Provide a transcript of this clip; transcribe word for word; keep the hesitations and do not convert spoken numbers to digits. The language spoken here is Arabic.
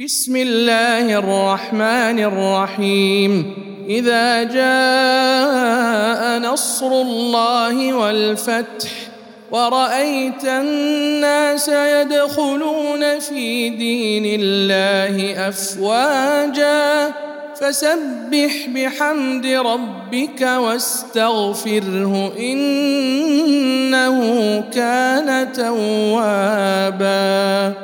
بسم الله الرحمن الرحيم إذا جاء نصر الله والفتح ورأيت الناس يدخلون في دين الله أفواجا فسبح بحمد ربك واستغفره إنه كان توابا.